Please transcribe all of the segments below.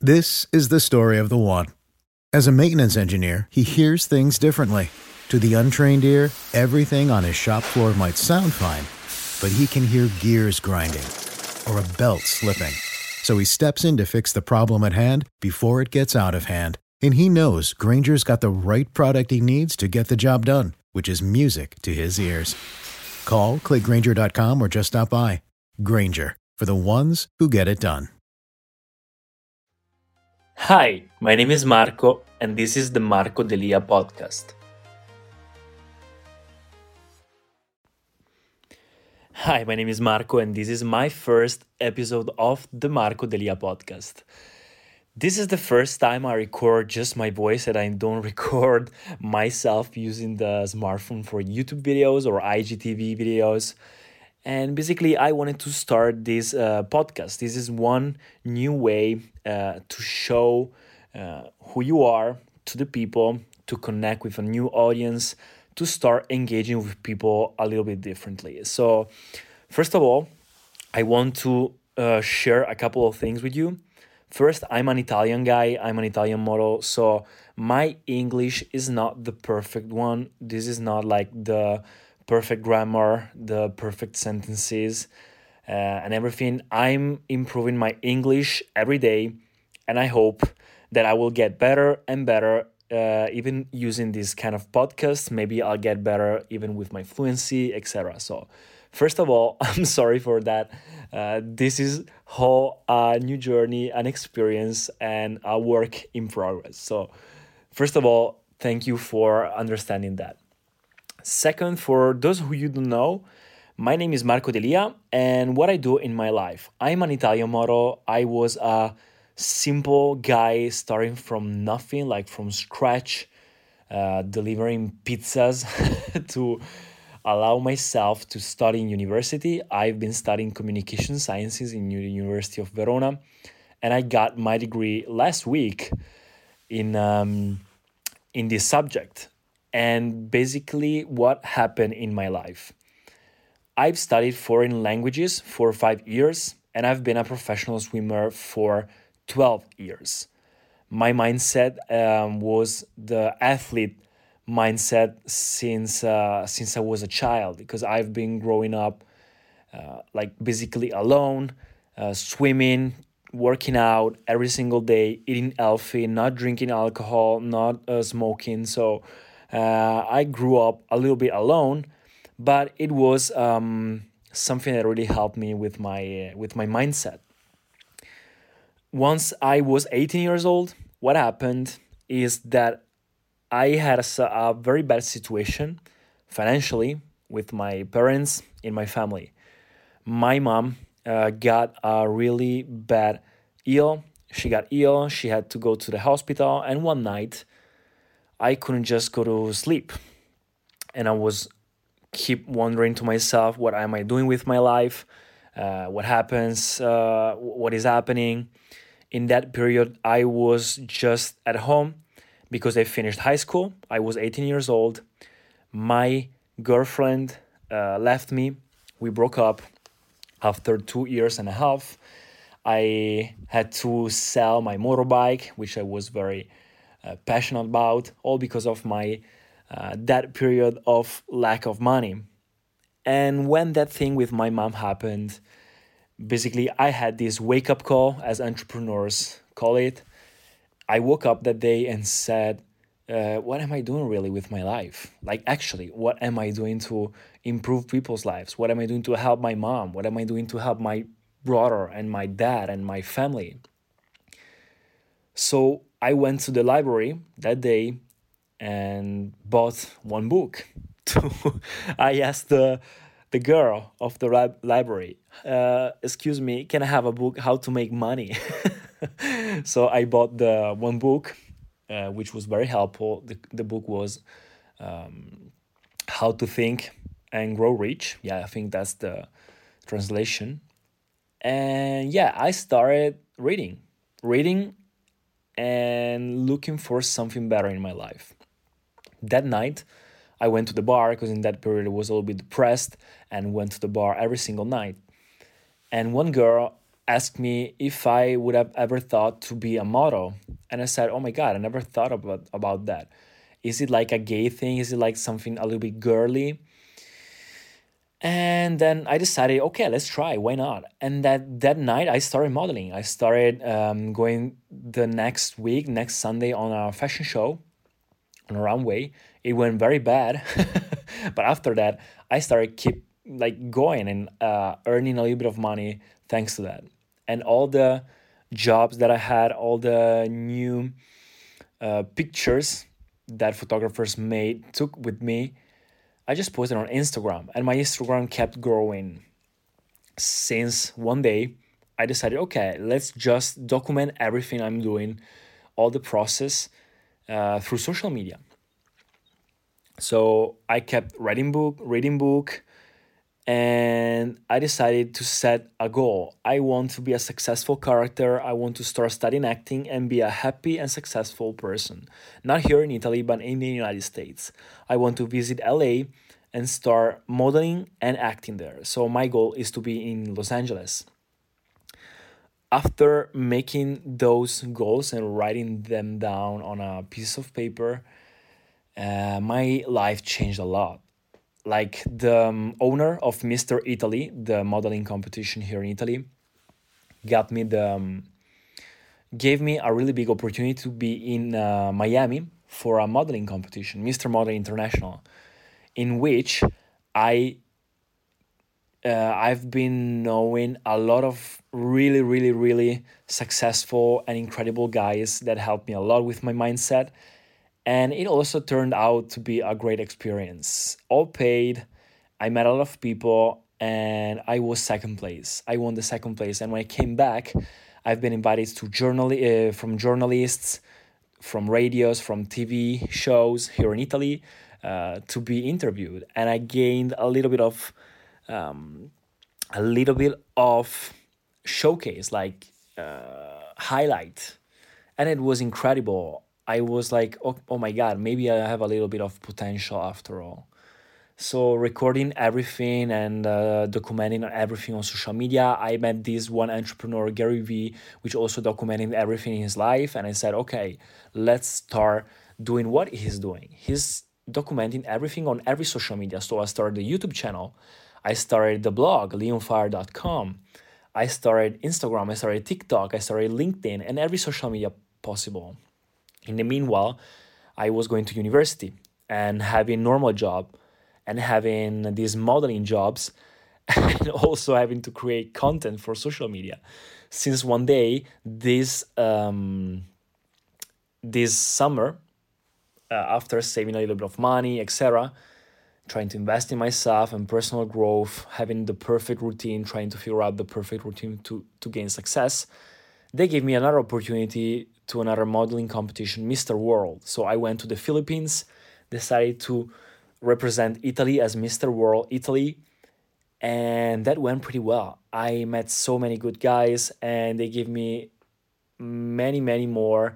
This is the story of the one. As a maintenance engineer, he hears things differently. To the untrained ear, everything on his shop floor might sound fine, but he can hear gears grinding or a belt slipping. So he steps in to fix the problem at hand before it gets out of hand. And he knows Granger's got the right product he needs to get the job done, which is music to his ears. Call, click Grainger.com, or just stop by. Grainger, for the ones who get it done. Hi, my name is Marco, and this is the Marco Delia podcast. Hi, my name is Marco, and this is my first episode of the Marco Delia podcast. This is the first time I record just my voice, and I don't record myself using the smartphone for YouTube videos or IGTV videos. And basically, I wanted to start this podcast. This is one new way to show who you are to the people, to connect with a new audience, to start engaging with people a little bit differently. So, first of all, I want to share a couple of things with you. First, I'm an Italian guy, I'm an Italian model, so my English is not the perfect one. This is not like the perfect grammar, the perfect sentences, and everything. I'm improving my English every day, and I hope that I will get better and better, even using this kind of podcast. Maybe I'll get better even with my fluency, etc. So, first of all, I'm sorry for that. This is whole new journey, an experience, and a work in progress. So, first of all, thank you for understanding that. Second, for those who you don't know, my name is Marco Delia, and what I do in my life. I'm an Italian model. I was a simple guy starting from nothing, like from scratch, delivering pizzas to allow myself to study in university. I've been studying communication sciences in the University of Verona, and I got my degree last week in this subject. And basically, what happened in my life? I've studied foreign languages for 5 years, and I've been a professional swimmer for 12 years. My mindset was the athlete mindset since I was a child, because I've been growing up like basically alone, swimming, working out every single day, eating healthy, not drinking alcohol, not smoking. So I grew up a little bit alone, but it was something that really helped me with my mindset. Once I was 18 years old, what happened is that I had a very bad situation financially with my parents in my family. My mom got a really bad ill. She got ill. She had to go to the hospital. And one night, I couldn't just go to sleep. And I was keep wondering to myself, what am I doing with my life? What happens? What is happening? In that period, I was just at home because I finished high school. I was 18 years old. My girlfriend left me. We broke up after 2 years and a half. I had to sell my motorbike, which I was very passionate about, all because of my that period of lack of money. And when that thing with my mom happened, basically I had this wake up call, as entrepreneurs call it. I woke up that day and said, what am I doing really with my life? Like, actually, what am I doing to improve people's lives? What am I doing to help my mom? What am I doing to help my brother and my dad and my family? So I went to the library that day and bought one book. I asked the girl of the library, excuse me, can I have a book, How to Make Money? So I bought the one book, which was very helpful. The book was How to Think and Grow Rich. Yeah, I think that's the translation. And yeah, I started reading and looking for something better in my life. That night, I went to the bar because in that period I was a little bit depressed and went to the bar every single night. And one girl asked me if I would have ever thought to be a model. And I said, oh my God, I never thought about that. Is it like a gay thing? Is it like something a little bit girly? And then I decided, okay, let's try. Why not? And that night, I started modeling. I started going the next week, next Sunday, on a fashion show on a runway. It went very bad, but after that, I started keep like going and earning a little bit of money thanks to that. And all the jobs that I had, all the new pictures that photographers took with me, I just posted on Instagram, and my Instagram kept growing. Since one day, I decided, okay, let's just document everything I'm doing, all the process through social media. So I kept reading book, and I decided to set a goal. I want to be a successful character. I want to start studying acting and be a happy and successful person. Not here in Italy, but in the United States. I want to visit LA and start modeling and acting there. So my goal is to be in Los Angeles. After making those goals and writing them down on a piece of paper, my life changed a lot. Like the owner of Mr. Italy, the modeling competition here in Italy, gave me a really big opportunity to be in Miami for a modeling competition, Mr. Model International, in which I've been knowing a lot of really, really, really successful and incredible guys that helped me a lot with my mindset. And it also turned out to be a great experience. All paid. I met a lot of people, and I was second place. I won the second place. And when I came back, I've been invited to from journalists, from radios, from TV shows here in Italy to be interviewed. And I gained a little bit of showcase, like highlight. And it was incredible. I was like, oh my God, maybe I have a little bit of potential after all. So recording everything and documenting everything on social media, I met this one entrepreneur, Gary Vee, which also documenting everything in his life. And I said, okay, let's start doing what he's doing. He's documenting everything on every social media. So I started the YouTube channel. I started the blog, leonfire.com. I started Instagram. I started TikTok. I started LinkedIn and every social media possible. In the meanwhile, I was going to university and having normal job and having these modeling jobs and also having to create content for social media. Since one day, this summer, after saving a little bit of money, etc., trying to invest in myself and personal growth, having the perfect routine, trying to figure out the perfect routine to gain success, they gave me another opportunity to another modeling competition, Mr. World. So I went to the Philippines, decided to represent Italy as Mr. World Italy, and that went pretty well. I met so many good guys, and they gave me many, many more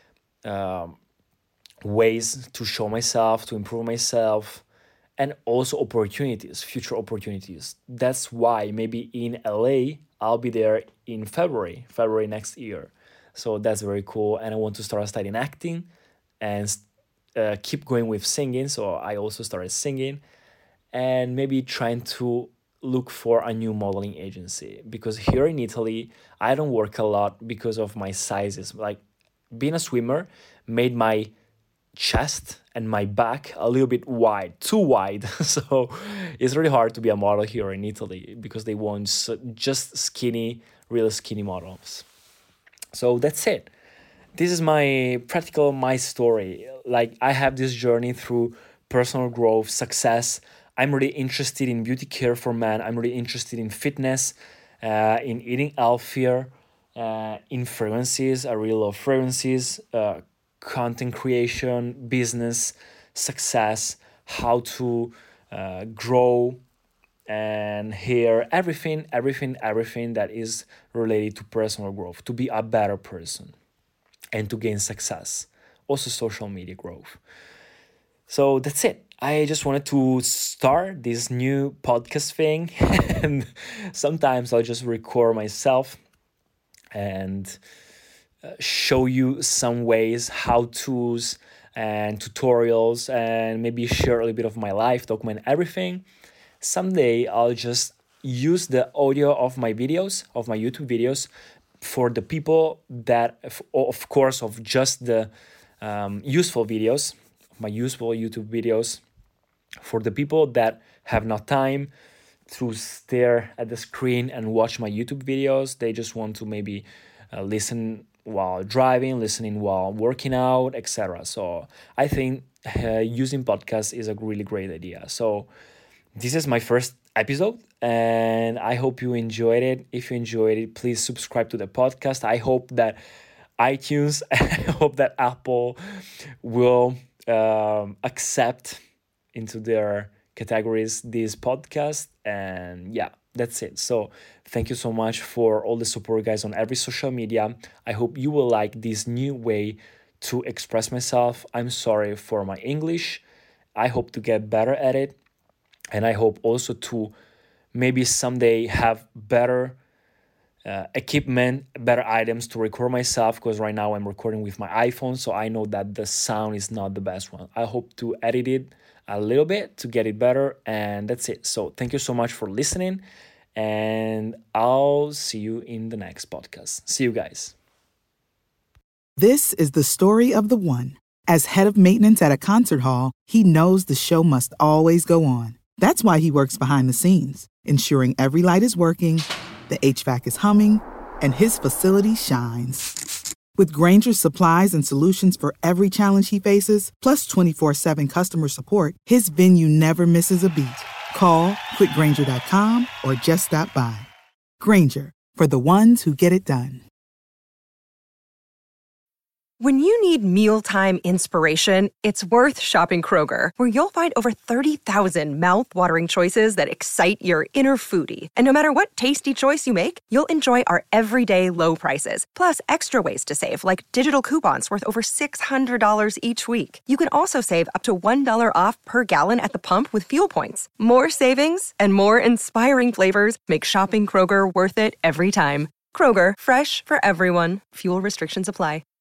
ways to show myself, to improve myself, and also opportunities, future opportunities. That's why maybe in LA, I'll be there in February next year. So that's very cool. And I want to start studying acting and keep going with singing. So I also started singing and maybe trying to look for a new modeling agency, because here in Italy, I don't work a lot because of my sizes. Like being a swimmer made my chest and my back a little bit wide, too wide. So it's really hard to be a model here in Italy because they want just skinny, real skinny models. So that's it. This is my story. Like I have this journey through personal growth, success. I'm really interested in beauty care for men. I'm really interested in fitness, in eating healthier, in fragrances. I really love fragrances, content creation, business, success, how to grow, and hear everything that is related to personal growth, to be a better person and to gain success. Also social media growth. So that's it. I just wanted to start this new podcast thing and sometimes I'll just record myself and show you some ways, how-tos and tutorials, and maybe share a little bit of my life, document everything. Someday I'll just use the audio of my videos, of my YouTube videos, for the people that, of course, of just the useful videos, my useful YouTube videos, for the people that have no time to stare at the screen and watch my YouTube videos. They just want to maybe listen while driving, listening while working out, etc. So I think using podcasts is a really great idea. So this is my first episode, and I hope you enjoyed it. If you enjoyed it, please subscribe to the podcast. I hope that iTunes, I hope that Apple will accept into their categories this podcast. And yeah, that's it. So thank you so much for all the support, guys, on every social media. I hope you will like this new way to express myself. I'm sorry for my English. I hope to get better at it. And I hope also to maybe someday have better equipment, better items to record myself, because right now I'm recording with my iPhone, so I know that the sound is not the best one. I hope to edit it a little bit to get it better, and that's it. So thank you so much for listening, and I'll see you in the next podcast. See you guys. This is the story of the one. As head of maintenance at a concert hall, he knows the show must always go on. That's why he works behind the scenes, ensuring every light is working, the HVAC is humming, and his facility shines. With Grainger's supplies and solutions for every challenge he faces, plus 24/7 customer support, his venue never misses a beat. Call quickgrainger.com or just stop by. Grainger, for the ones who get it done. When you need mealtime inspiration, it's worth shopping Kroger, where you'll find over 30,000 mouth-watering choices that excite your inner foodie. And no matter what tasty choice you make, you'll enjoy our everyday low prices, plus extra ways to save, like digital coupons worth over $600 each week. You can also save up to $1 off per gallon at the pump with fuel points. More savings and more inspiring flavors make shopping Kroger worth it every time. Kroger, fresh for everyone. Fuel restrictions apply.